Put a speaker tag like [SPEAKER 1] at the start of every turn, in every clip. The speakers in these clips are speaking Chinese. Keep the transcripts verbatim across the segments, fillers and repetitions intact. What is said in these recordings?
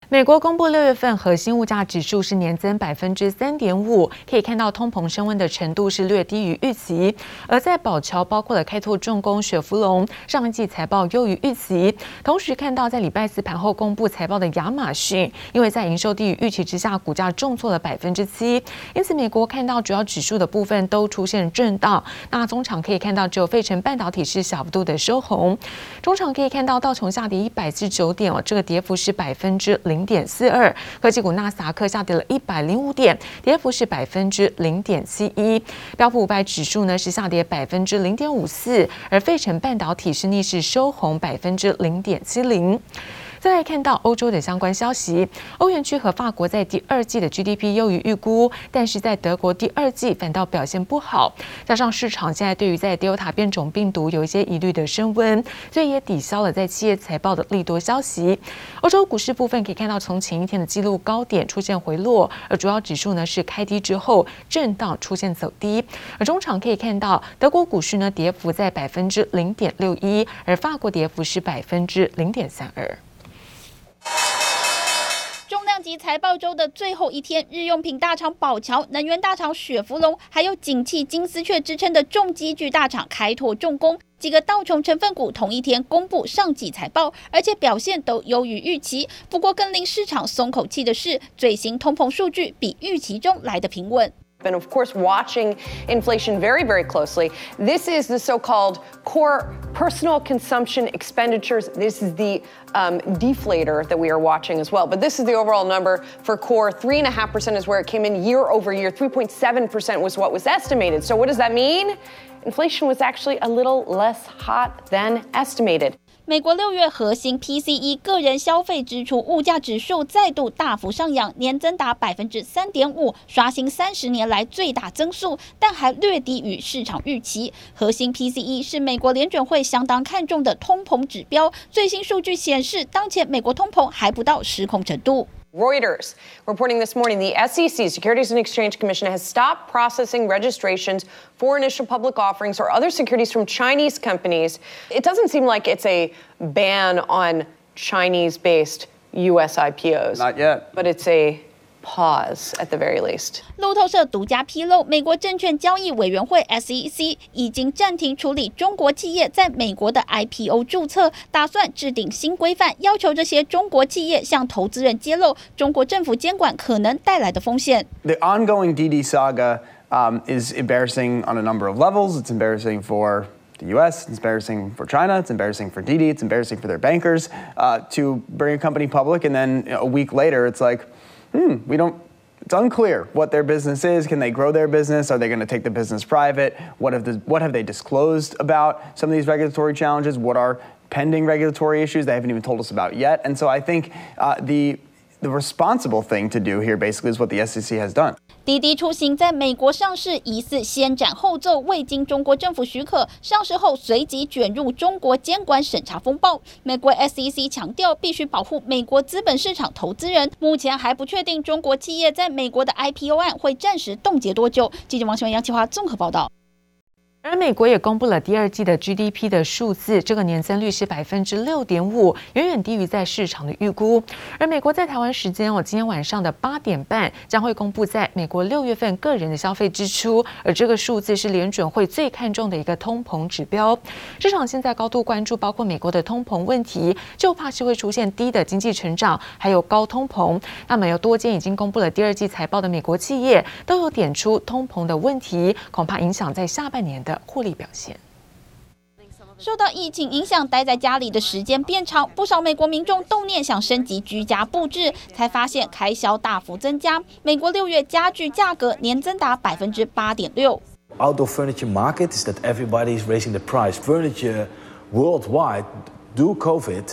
[SPEAKER 1] 美國公布六月份核心物價指數是年增百分之三點五，可以看到通膨升溫的程度是略低於預期。而在寶僑包括了開拓重工、雪佛龍上一季財報優於預期，同時看到在禮拜四盤後公布財報的亞馬遜，因為在營收低於預期之下，股價重挫了百分之七。因此，美國看到主要指數的部分都出現震盪。那中場可以看到只有費城半導體是小幅度的收紅。中場可以看到道瓊下跌一百四十九點哦，這個跌幅是百分之零。零點四二，科技股納斯達克下跌了一百零五點，跌幅是百分之零點七一。標普五百指數呢是下跌百分之零點五四，而費城半導體是逆勢收紅百分之零點七零。再來看到歐洲的相關消息，歐元區和法國在第二季的 G D P 優於預估，但是在德國第二季反倒表現不好，加上市場現在對於在 Delta 變種病毒有一些疑慮的升溫，所以也抵消了在企業財報的利多消息。歐洲股市部分可以看到，從前一天的紀錄高點出現回落，而主要指數呢是開低之後震盪出現走低。而中場可以看到，德國股市呢跌幅在百分之零點六一，而法國跌幅是百分之零點三二。
[SPEAKER 2] 重量級財報週的最後一天，日用品大廠寶僑、能源大廠雪佛龍，還有景氣金絲雀之稱的重機具大廠開拓重工，幾個道瓊成分股同一天公布上季財報，而且表現都優於預期。不過，更令市場鬆口氣的是，最新通膨數據比預期中來得平穩。
[SPEAKER 3] And of course, watching inflation very, very closely. This is the so-called core personal consumption expenditures. This is the um, deflator that we are watching as well. But this is the overall number for core. three point five percent is where it came in year over year. three point seven percent was what was estimated. So what does that mean? Inflation was actually a little less hot than estimated.
[SPEAKER 2] 美國六月核心 P C E 個人消費支出物價指數再度大幅上揚，年增達百分之三點五，刷新三十年來最大增速，但還略低於市場預期。核心 P C E 是美國聯準會相當看重的通膨指標，最新數據顯示，當前美國通膨還不到失控程度。
[SPEAKER 3] Reuters reporting this morning, the S E C, Securities and Exchange Commission, has stopped processing registrations for initial public offerings or other securities from Chinese companies. It doesn't seem like it's a ban on Chinese-based U S I P Os.
[SPEAKER 4] Not yet.
[SPEAKER 3] But it's a pause at the very least.
[SPEAKER 2] 路透社獨家披露，美國證券交易委員會 S E C 已經暫停處理中國企業在美國的 I P O 註冊，打算制定新規範，要求這些中國企業向投資人揭露中國政府監管可能帶來的風險。
[SPEAKER 4] The ongoing D D saga um, is embarrassing on a number of levels. It's embarrassing for the U S, it's embarrassing for China, it's embarrassing for D D, it's embarrassing for their bankers uh, to bring a company public, and then you know, a week later it's like, hmm, we don't, it's unclear what their business is. Can they grow their business? Are they going to take the business private? What have, the, what have they disclosed about some of these regulatory challenges? What are pending regulatory issues they haven't even told us about yet? And so I think uh, the, the responsible thing to do here basically is what the S E C has done.
[SPEAKER 2] 滴滴出行在美國上市，疑似先斬後奏，未經中國政府許可，上市後隨即捲入中國監管審查風暴。美國 S E C 強調必須保護美國資本市場投資人，目前還不確定中國企業在美國的 I P O 案會暫時凍結多久。記者王新文、楊啟華綜合報道。
[SPEAKER 1] 而美國也公布了第二季的 G D P 的數字，這個年增率是百分之六點五，遠遠低於在市場的預估。而美國在台灣時間哦，今天晚上的八點半將會公布在美國六月份個人的消費支出，而這個數字是聯準會最看重的一個通膨指標。市場現在高度關注包括美國的通膨問題，就怕是會出現低的經濟成長，還有高通膨。那麼有多間已經公布了第二季財報的美國企業都有點出通膨的問題，恐怕影響在下半年的獲利表現。
[SPEAKER 2] 受到疫情影響，待在家裡的時間變長，不少美國民眾動念想升級居家布置，才發現開銷大幅增加。美國六月家具價格年增達百分之八點六。
[SPEAKER 5] Outdoor furniture market is that everybody is raising the price. Furniture worldwide, due COVID,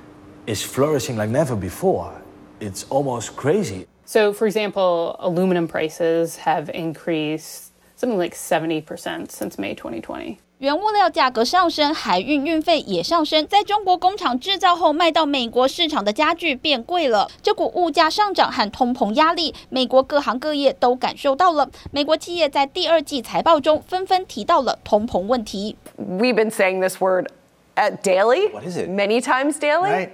[SPEAKER 5] is flourishing like never before. It's almost crazy.
[SPEAKER 6] So, for example, aluminum prices have increased something like seventy percent since May twenty twenty.
[SPEAKER 2] 原物料價格上升，海運運費也上升，在中國工廠製造後賣到美國市場的家具變貴了。這股物價上漲和通膨壓力，美國各行各業都感受到了。美國企業在第二季財報中紛紛提到了通膨問題。
[SPEAKER 3] We've been saying this word at daily.
[SPEAKER 4] What is it?
[SPEAKER 3] Many times daily.
[SPEAKER 4] Right.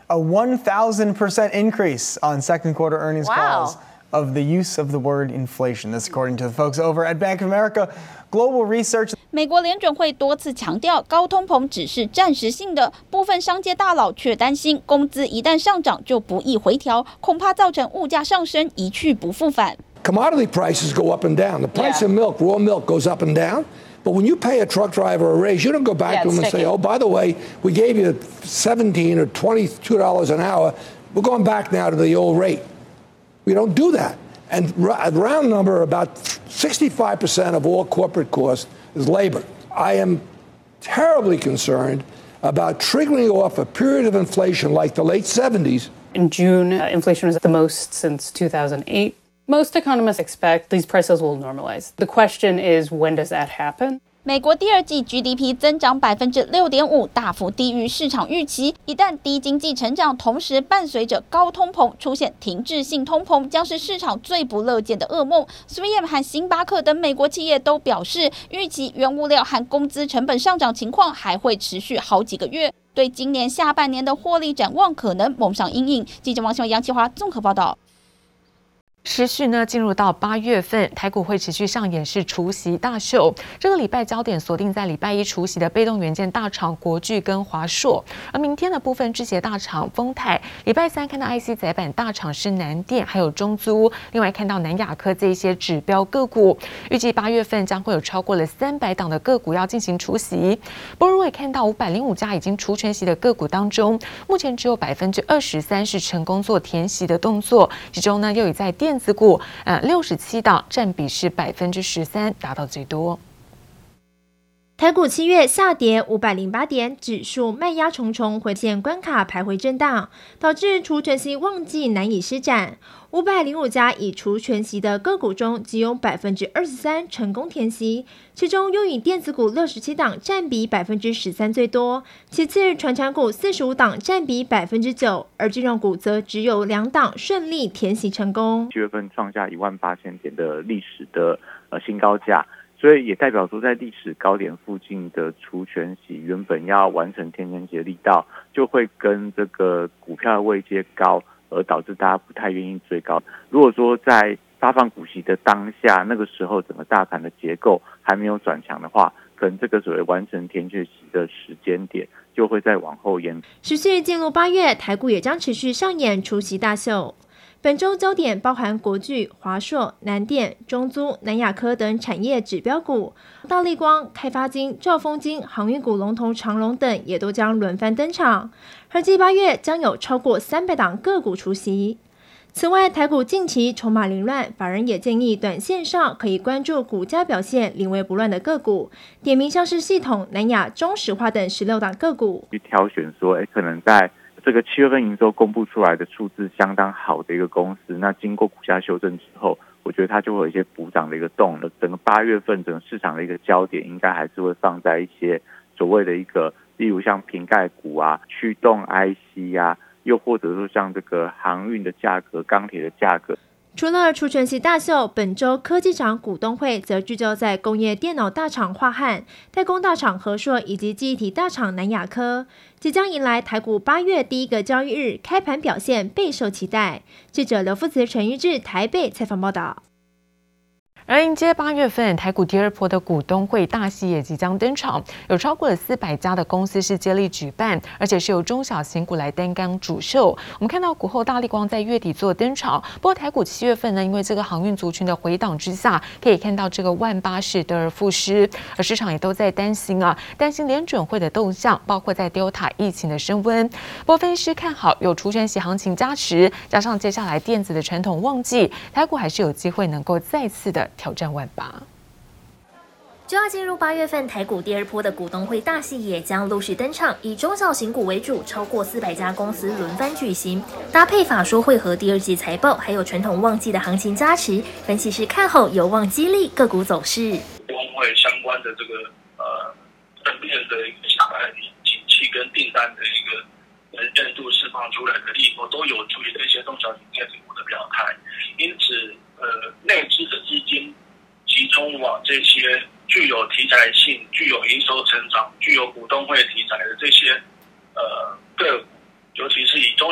[SPEAKER 4] a one thousand percent increase on second quarter earnings
[SPEAKER 1] wow.
[SPEAKER 4] calls of the use of the word inflation. This according to the folks over at Bank of America Global Research.
[SPEAKER 2] 美国联準會多次強調，高通膨只是暫時性的，部分商界大佬卻擔心，工資一旦上漲就不易回調，恐怕造成物價上升一去不復返。
[SPEAKER 7] Commodity prices go up and down. The price of milk, raw milk, goes up and down. But when you pay a truck driver a raise, you don't go back to him and say, oh, by the way, we gave you seventeen or twenty-two dollars an hour. We're going back now to the old rate. We don't do that. And a round number, about sixty-five percent of all corporate cost is labor. I am terribly concerned about triggering off a period of inflation like the late seventies.
[SPEAKER 6] In June, uh, inflation was the most since two thousand eight. Most economists expect these prices will normalize. The question is, when does that happen?
[SPEAKER 2] 美國第二季 G D P 增長百分之六點五，大幅低於市場預期。一旦低經濟成長，同時伴隨着高通膨出現停滯性通膨，將是市場最不樂見的噩夢。three M 和星巴克等美國企業都表示，預期原物料和工資成本上漲情況還會持續好幾個月，對今年下半年的獲利展望可能蒙上陰影。記者王新文、楊啟華綜合報道。
[SPEAKER 1] 持續呢，進入到八月份，台股會持續上演是除息大秀。這個禮拜焦點鎖定在禮拜一除息的被動元件大廠國巨跟華碩，而明天的部分製鞋大廠豐泰，禮拜三看到 I C 載板大廠是南電，還有中租，另外看到南亞科這一些指標個股，預計八月份將會有超過了三百檔的個股要進行除息。不過，如果也看到五百零五家已經除權息的個股當中，目前只有百分之二十三是成功做填息的動作，其中呢又以在電電子股，呃，六十七檔，佔比是百分之十三，達到最多。
[SPEAKER 8] 台股七月下跌五百零八點，指數賣壓重重，回線關卡徘徊震盪，導致除權息旺季難以施展。五百零五家已除權息的個股中，只有百分之二十三成功填息，其中又以電子股六十七檔佔比百分之十三最多，其次傳產股四十五檔佔比百分之九，而金融股則只有兩檔順利填息成功。
[SPEAKER 9] 七月份創下一萬八千點的歷史的呃新高價。所以也代表說，在歷史高點附近的除權息，原本要完成填權息的力道，就會跟這個股票的位階高，而導致大家不太願意追高。如果說在發放股息的當下，那個時候整個大盤的結構還沒有轉強的話，可能這個所謂完成填權息的時間點就會再往後延。
[SPEAKER 8] 持續進入八月，台股也將持續上演除息大秀。本周焦點包含國巨、華碩、南電、中租、南亞科等產業指標股，大立光、開發金、兆豐金、航運股龍頭長榮等也都將輪番登場。預計八月將有超過三百檔個股除息。此外，台股近期籌碼凌亂，法人也建議短線上可以關注股價表現臨危不亂的個股，點名像是系統、南亞、中石化等十六檔個股。
[SPEAKER 9] 去挑選說，哎，可能在這個七月份營收公布出來的數字相當好的一個公司，那經過股價修正之後，我覺得它就會有一些補漲的一個動力。整個八月份整個市場的一個焦點，應該還是會放在一些所謂的一個，例如像瓶蓋股啊、驅動 I C 啊，又或者說像這個航運的價格、鋼鐵的價格。
[SPEAKER 8] 除了除權息大秀，本周科技廠股東會則聚焦在工業電腦大廠樺漢、代工大廠和碩以及記憶體大廠南亞科，即將迎來台股八月第一個交易日，開盤表現備受期待。記者劉富慈、陳玉志台北採訪報道。
[SPEAKER 1] 而迎接八月份台股第二波的股東會大戲也即將登場，有超過了四百家的公司是接力舉辦，而且是由中小型股來擔綱主秀。我們看到股後大立光在月底做登場，不過台股七月份呢，因為這個航運族群的回檔之下，可以看到這個萬八是得而復失，而市場也都在擔心啊，擔心聯準會的動向，包括在 Delta 疫情的升溫。不過分析師看好有除權息行情加持，加上接下來電子的傳統旺季，台股還是有機會能夠再次的挑戰萬八。
[SPEAKER 8] 就要進入八月份，台股第二波的股東會大戲也將陸續登場，以中小型股為主，超過四百家公司輪番舉行，搭配法說會和第二季財報，還有傳統旺季的行情加持，分析師看好有望激勵個股走勢。
[SPEAKER 10] 股東會相關的這個呃正面的一個下來景氣跟訂單的一個能見度釋放出來的利多，都有助於這些中小型電子股的表態，因此呃內資的資金集中往這些具有題材性、具有營收成長、具有股東會題材的這些呃個股，尤其是以中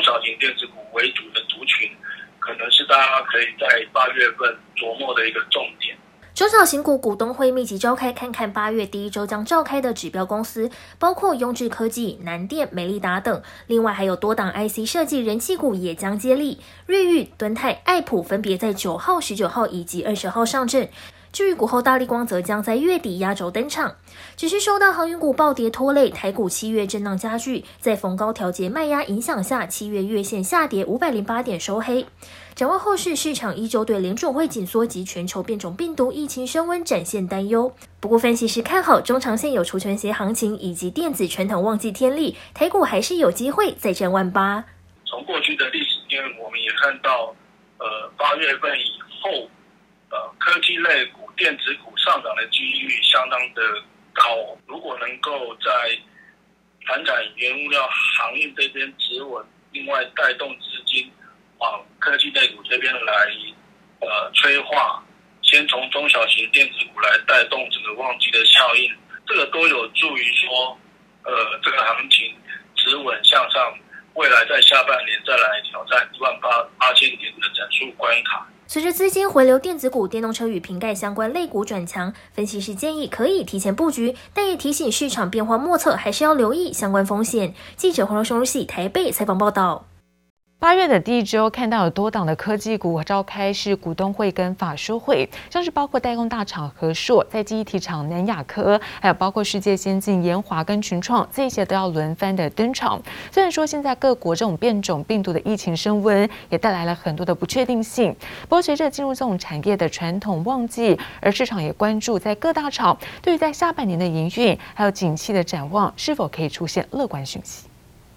[SPEAKER 10] 大家可以在八月份琢磨的一個重點。
[SPEAKER 8] 中小型股股東會密集召開，看看八月第一周將召開的指標公司，包括雍智科技、南電、美利達等。另外還有多檔 I C 設計人氣股也將接力，瑞昱、敦泰、愛普分別在九號、十九號以及二十號上陣。至於股後大立光則將在月底壓軸登場。只是受到航運股暴跌拖累，台股七月震盪加劇，在逢高調節賣壓影響下，七月月線下跌五百零八點收黑。展望後市，市場依舊對聯準會緊縮及全球變種病毒疫情升溫展現擔憂。不過，分析師看好中長線有除權息行情以及電子傳統旺季天力，台股還是有機會再戰萬八。
[SPEAKER 10] 從過去的歷史經驗，我們也看到，呃，八月份以後，呃，科技類股、電子股上漲的幾率相當的高。如果能夠在傳產原物料行業這邊止穩，另外帶動資金往科技類股這邊來，呃，催化，先從中小型電子股來帶動整個旺季的效應，這個都有助於說，呃，這個行情止穩向上，未來在下半年再來挑戰一萬八八千點的整數關卡。
[SPEAKER 8] 隨着資金回流，電子股、電動車與瓶蓋相關類股轉強，分析師建議可以提前布局，但也提醒市場變化莫測，還是要留意相關風險。記者黃榮熙台北採訪報道。
[SPEAKER 1] 八月的第一周，看到有多檔的科技股召開是股東會跟法說會，像是包括代工大廠和碩、在記憶體廠南亞科，還有包括世界先進研華跟群創，這些都要輪番的登場。雖然說現在各國這種變種病毒的疫情升溫，也帶來了很多的不確定性。不過隨着進入這種產業的傳統旺季，而市場也關注在各大廠對於在下半年的營運還有景氣的展望，是否可以出現樂觀訊息。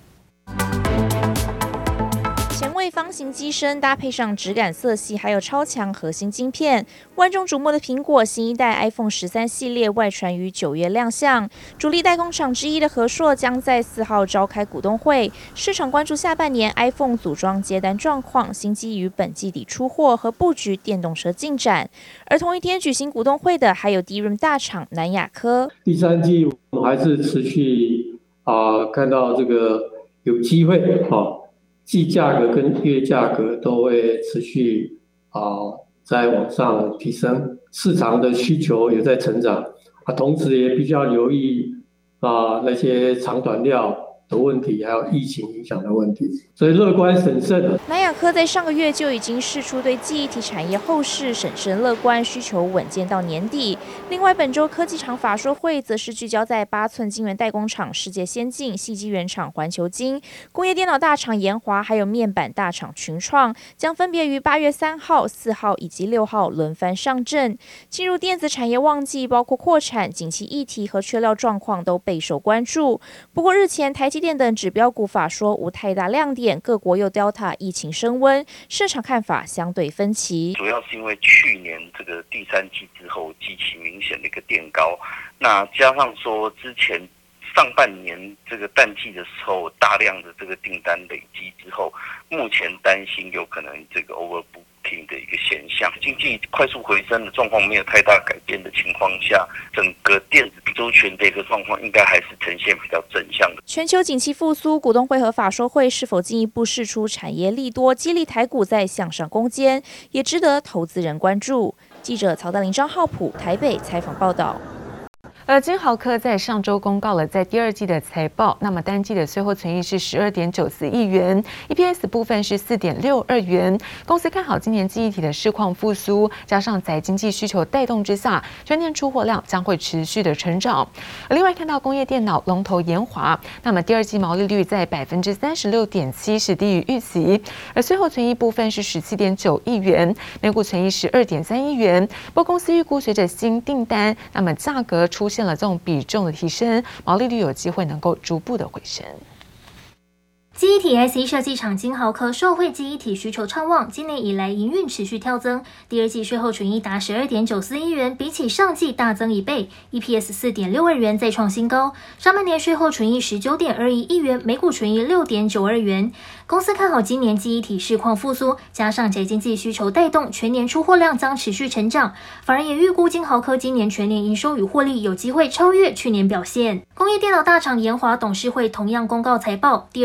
[SPEAKER 11] 前衛方形機身搭配上質感色系，還有超強核心晶片，萬眾矚目的蘋果新一代 iPhone 十三系列外傳於九月亮相。主力代工廠之一的和碩將在四號召開股東會，市場關注下半年 iPhone 組裝接單狀況、新機於本季底出貨和布局電動車進展。而同一天舉行股東會的還有 D R A M 大廠南亞科。
[SPEAKER 12] 第三季我們還是持續啊、呃，看到這個有機會啊。哦季價格跟月價格都會持續啊、呃，在往上提升，市場的需求也在成長啊，同時也比較留意啊、呃、那些長短料的問題，還有疫情影響的問題，所以樂觀審慎。
[SPEAKER 11] 南亞科在上個月就已經釋出對記憶體產業後市審慎樂觀，需求穩健到年底。另外，本周科技廠法說會則是聚焦在八寸晶圓代工廠世界先進、矽晶圓廠環球晶、工業電腦大廠研華，還有面板大廠群創，將分別於八月三號、四號以及六號輪番上陣。進入電子產業旺季，包括擴產、景氣議題和缺料狀況都備受關注。不過，日前台積電等指標股法說無太大亮點，各國又 Delta 疫情升溫，市場看法相對分歧。
[SPEAKER 13] 主要是因為去年這個第三季之後極其明顯的一個墊高，那加上說之前上半年這個淡季的時候大量的這個訂單累積之後，目前擔心有可能這個 overbook的一個現象，經濟快速回升的狀況沒有太大改變的情況下，整個電子周全的一個狀況應該還是呈現比較正向的。
[SPEAKER 11] 全球景氣復甦，股東會和法說會是否進一步釋出產業利多，激勵台股再向上攻堅，也值得投資人關注。記者曹德霖、張浩普台北採訪報道。
[SPEAKER 1] 而金豪科在上周公告了在第二季的財報，那麼單季的稅後存益是十二點九四億元 ，E P S 部分是四點六二元。公司看好今年記憶體的市況復甦，加上在經濟需求帶動之下，全年出貨量將會持續的成長。而另外看到工業電腦龍頭研華，那麼第二季毛利率在百分之三十六點七，是低於預期。而稅後存益部分是十七點九億元，每股存益十二點三億元。不過公司預估隨着新訂單，那麼價格出現了這種比重的提升，毛利率有機會能夠逐步的回升。
[SPEAKER 8] 記憶體 I C 設計廠金豪科受惠記憶體需求暢旺，今年以來營運持續跳增，第二季稅後純益達十二點九四億元，比起上季大增一倍 ，E P S 四點六二元再創新高。上半年稅後純益十九點二一億元，每股純益六點九二元。公司看好今年記憶體市況復甦，加上宅經濟需求帶動，全年出貨量將持續成長。法人也預估金豪科今年全年營收與獲利有機會超越去年表現。工業電腦大廠研華董事會同樣公告財報，第二季合併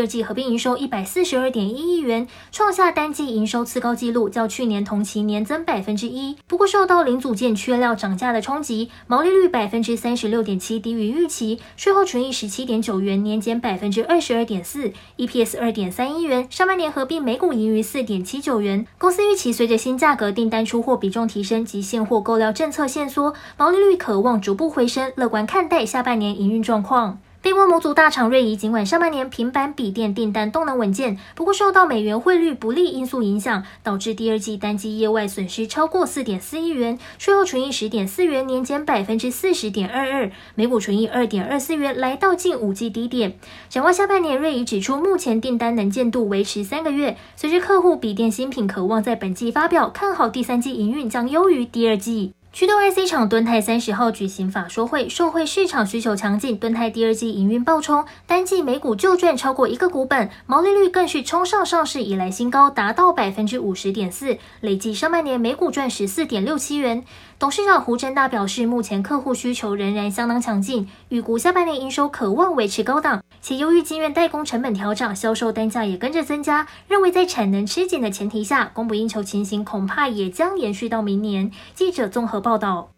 [SPEAKER 14] 營收一百四十二點一億元，創下單季營收次高紀錄，較去年同期年增百分之一。不過受到零組件缺料漲價的衝擊，毛利率百分之三十六點七低於預期，稅後純益十七點九元，年減百分之二十二點四 ，E P S 二點三一元，上半年合併每股盈餘四點七九元。公司預期隨着新價格訂單出貨比重提升及現貨購料政策限縮，毛利率可望逐步回升，樂觀看待下半年營運狀況。被窩模組大廠瑞儀，儘管上半年平板筆電訂單動能穩健，不過受到美元匯率不利因素影響，導致第二季單季業外損失超過四點四億元，稅後純益十點四元，年減百分之四十點二二，每股純益二點二四元，來到近五季低點。展望下半年，瑞儀指出，目前訂單能見度維持三個月，隨着客戶筆電新品可望在本季發表，看好第三季營運將優於第二季。驅動 I C 廠敦泰三十號舉行法說會，受惠市場需求強勁，敦泰第二季營運爆衝，單季每股就賺超過一個股本，毛利率更是衝上上市以來新高，達到百分之五十點四，累計上半年每股賺十四點六七元。董事長胡正大表示，目前客戶需求仍然相當強勁，預估下半年營收可望維持高檔，且由於晶圓代工成本調漲，銷售單價也跟着增加，認為在產能吃緊的前提下，供不應求情形恐怕也將延續到明年。記者綜合報道。